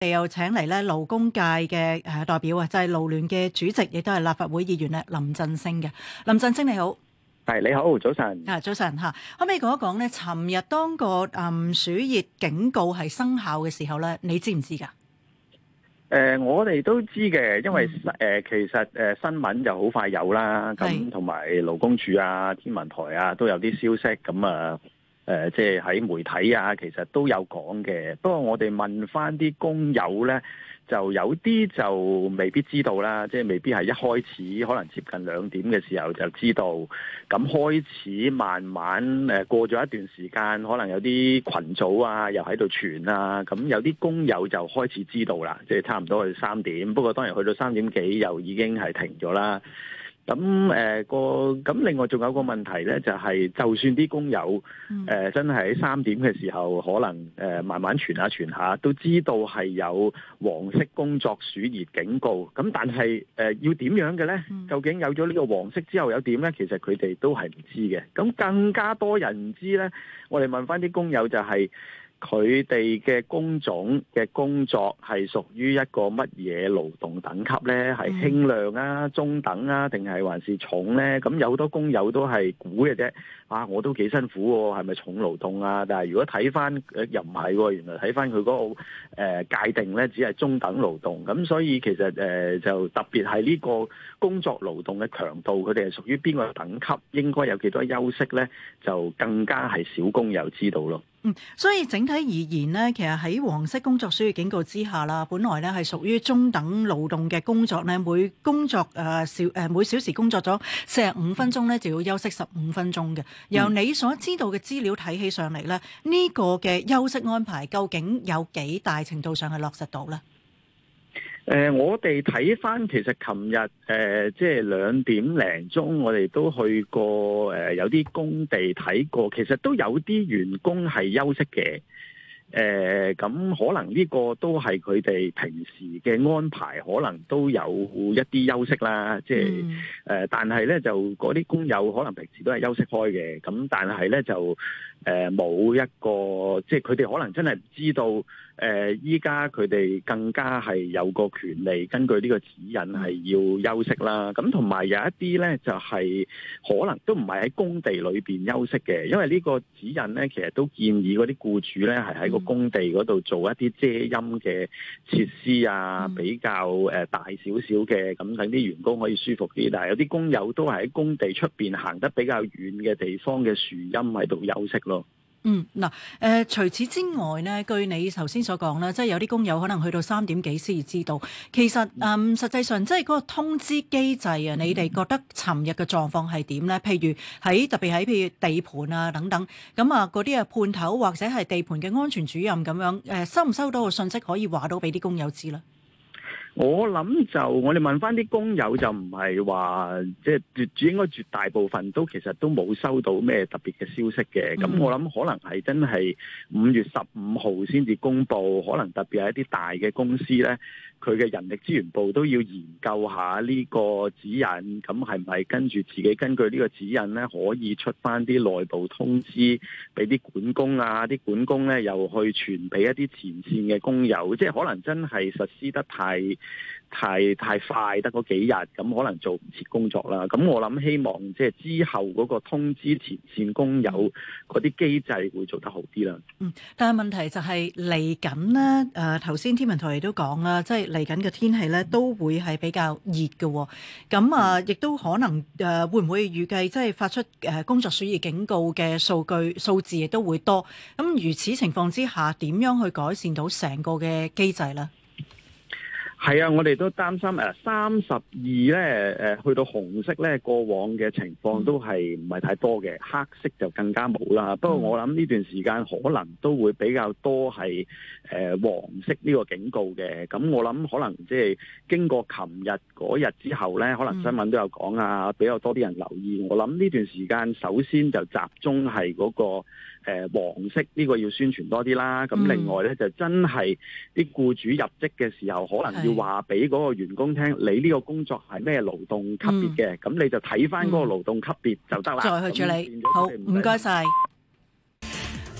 我哋又請嚟咧勞工界嘅代表啊，就係勞聯嘅主席，亦都係立法會議員咧林振昇嘅。林振昇你好。 係你好，早晨。 早晨嚇，可唔可以講一講咧？尋日當個暑熱警告係生效嘅時候咧，你知唔知㗎？ 我哋都知嘅，因為其實新聞就好快有啦，咁同埋勞工處啊、天文台啊都有啲消息，咁啊即係喺媒體啊，其實都有講嘅。不過我哋問翻啲工友咧，就有啲就未必知道啦，即係未必係一開始可能接近2點嘅時候就知道，咁開始慢慢過咗一段時間，可能有啲群組啊又喺度傳啊，咁有啲工友就開始知道啦，即係差唔多去3點，不過當然去到3點幾又已經係停咗啦。咁咁另外仲有個問題咧，就係就算啲工友真係喺3點嘅時候，可能慢慢傳下，都知道係有黃色工作暑熱警告。咁但係要點樣嘅咧？究竟有咗呢個黃色之後有點咧？其實佢哋都係唔知嘅。咁更加多人唔知咧，我哋問翻啲工友就係佢哋嘅工種嘅工作係屬於一個乜嘢勞動等級呢？係輕量啊、中等啊，定係還是重呢？咁有好多工友都係估嘅啫。我都幾辛苦喎，係咪重勞動啊？但係如果睇翻又唔係喎，原來睇翻佢嗰個界定呢，只係中等勞動。咁所以其實就特別係呢個工作勞動嘅強度，佢哋係屬於邊個等級，應該有幾多休息呢？就更加係少工友知道咯。 所以整體而言呢，其實喺黃色工作暑熱警告之下啦，本來呢係屬於中等勞動嘅工作呢，每小時工作咗45分鐘呢，就要休息15分鐘嘅。由你所知道嘅資料睇起上嚟呢，呢個嘅休息安排究竟有幾大程度上係落實到呢？ 我哋睇翻，其實琴日即係2點零鐘，我哋都去過有啲工地睇過，其實都有啲員工係休息嘅。咁可能呢個都係佢哋平時嘅安排，可能都有一啲休息啦。即係但係咧就嗰啲工友可能平時都係休息開嘅。咁但係咧就冇一個，即係佢哋可能真係唔知道。依家佢哋更加係有個權利，根據呢個指引係要休息啦。咁同埋有一啲咧，就係可能都唔係喺工地裏邊休息嘅，因為呢個指引咧，其實都建議嗰啲僱主咧係喺個工地嗰度做一啲遮陰嘅設施啊，比較大少少嘅，咁等啲員工可以舒服啲。但係有啲工友都係喺工地出邊行得比較遠嘅地方嘅樹蔭喺度休息咯。 除此之外呢，據你頭先所講啦，即係有啲工友可能去到3點幾先至知道。其實實際上即係嗰個通知機制啊，你哋覺得尋日嘅狀況係點呢？譬如特別喺譬如地盤啊等等，咁啊嗰啲判頭或者係地盤嘅安全主任咁樣，收唔收到個信息可以話到俾啲工友知呢？ 我諗就我哋問翻啲工友就唔係話即係應該絕大部分都其實都冇收到咩特別嘅消息嘅。咁我諗可能係真係5月15號先至公布，可能特別係一啲大嘅公司呢，佢嘅人力資源部都要研究下呢個指引，咁係咪跟住自己根據呢個指引呢，可以出翻啲內部通知俾啲管工啊，啲管工呢又去傳俾一啲前線嘅工友，即係可能真係實施得太快，得嗰幾日，咁可能做唔切工作啦。咁我諗希望即係之後嗰個通知前線工友嗰啲機制會做得好啲啦。 但係問題就係嚟緊呢，頭先天文台亦都講啦，即係嚟緊嘅天氣咧都會係比較熱嘅。咁亦都可能會唔會預計即係發出工作暑熱警告嘅數字亦都會多。咁如此情況之下，點樣去改善到成個嘅機制咧？ 係啊，我哋都擔心32咧去到紅色咧，過往嘅情況都係唔係太多嘅，黑色就更加冇啦。不過我諗呢段時間可能都會比較多係黃色呢個警告嘅。咁我諗可能即係經過琴日嗰日之後咧，可能新聞都有講啊，比較多啲人留意。我諗呢段時間首先就集中係嗰個黃色呢個要宣傳多啲啦。咁另外咧就真係啲僱主入職嘅時候，可能要話俾嗰個員工聽，你呢個工作係咩勞動級別嘅，咁你就睇翻嗰個勞動級別就得啦。 再去處理。好，唔該晒。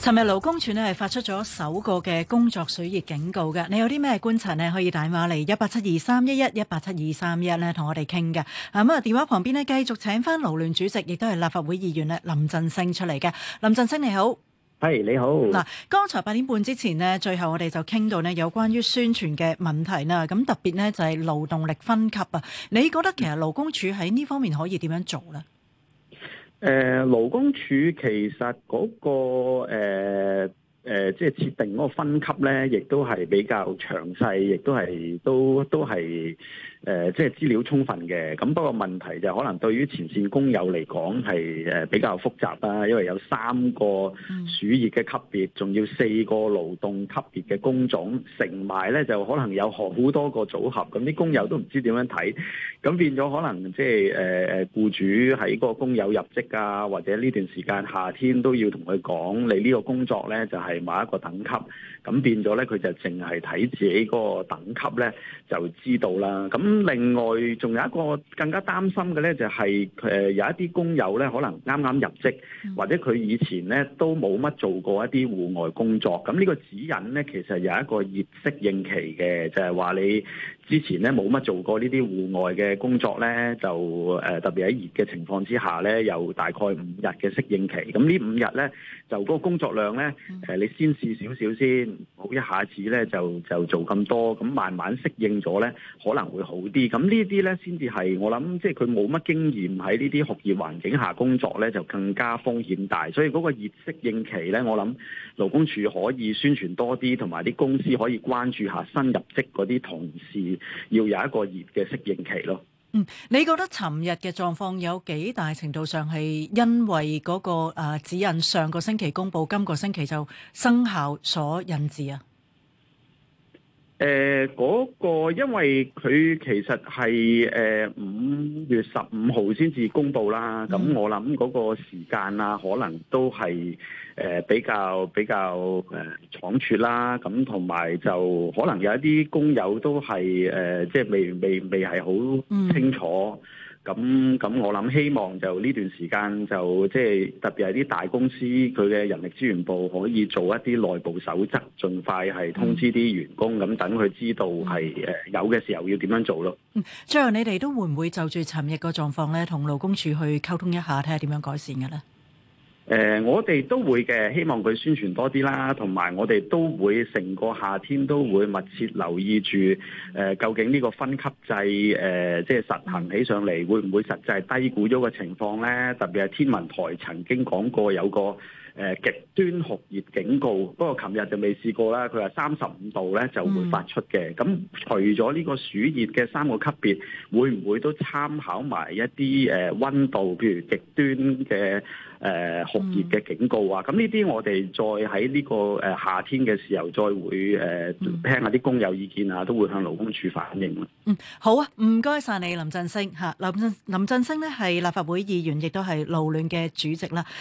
尋日勞工處呢係發出咗首個嘅工作暑熱警告嘅，你有啲咩觀察呢？可以打電話嚟1872311，1872311呢同我哋傾嘅。咁啊，電話旁邊呢，繼續請翻勞聯主席，亦都係立法會議員咧林振昇出嚟嘅。林振昇你好。 係你好。 嗱，剛才8點半之前呢，最後我哋就傾到呢有關於宣傳嘅問題啦。咁特別呢，就係勞動力分級啊。你覺得其實勞工處喺呢方面可以點樣做呢？ 勞工處其實嗰個即係設定嗰個分級咧，亦都係比較詳細，亦都係即係資料充分嘅。咁不過問題就可能對於前線工友嚟講係比較複雜啦，因為有3個暑熱嘅級別，仲要4個勞動級別嘅工種，乘埋咧就可能有好多個組合，咁啲工友都唔知點樣睇，咁變咗可能即係僱主喺嗰個工友入職啊，或者呢段時間夏天都要同佢講，你呢個工作咧就係某一個等級，咁變咗咧佢就淨係睇自己嗰個等級咧就知道啦。咁另外仲有一個更加擔心嘅咧，就係有一啲工友咧，可能啱啱入職，或者佢以前咧都冇乜做過一啲戶外工作。咁呢個指引咧，其實有一個熱適應期嘅，就係話你之前咧冇乜做過呢啲戶外嘅工作咧，就特別喺熱嘅情況之下咧，有大概5日嘅適應期。咁呢5日咧，就嗰個工作量咧，你先試少少先，唔好一下子咧就做咁多，咁慢慢適應咗咧，可能會好啲。咁呢啲咧先至係我諗，即係佢冇乜經驗喺呢啲酷熱環境下工作咧，就更加風險大。所以嗰個熱適應期咧，我諗勞工處可以宣傳多啲，同埋啲公司可以關注下新入職嗰啲同事，要有一個熱嘅適應期咯。 你覺得尋日嘅狀況有幾大程度上係因為嗰個指引上個星期公佈，今個星期就生效所引致啊？ 嗰個因為佢其實係5月15號先至公佈啦，咁我諗嗰個時間啊，可能都係比較倉促啦，咁同埋就可能有一啲工友都係即係未係好清楚。咁我諗希望就呢段時間就即係特別係啲大公司佢嘅人力資源部可以做一啲內部守則，盡快係通知啲員工，咁等佢知道係有嘅時候要點樣做咯。 最後你哋都會唔會就住尋日個狀況咧，同勞工處去溝通一下，睇下點樣改善嘅咧？ 我哋都會嘅，希望佢宣傳多啲啦，同埋我哋都會成個夏天都會密切留意住，究竟呢個分級制即係實行起上嚟，會唔會實際低估咗個情況咧？特別係天文台曾經講過有個極端酷熱警告，不過琴日就未試過啦。佢話35度咧就會發出嘅。咁除咗呢個暑熱嘅3個級別，會唔會都參考埋一啲溫度，譬如極端嘅酷熱嘅警告啊？咁呢啲我哋再喺呢個夏天嘅時候，再會聽下啲工友意見啊，都會向勞工處反映。 好啊，唔該晒你林振昇嚇。林振昇呢係立法會議員，亦都係勞聯嘅主席啦。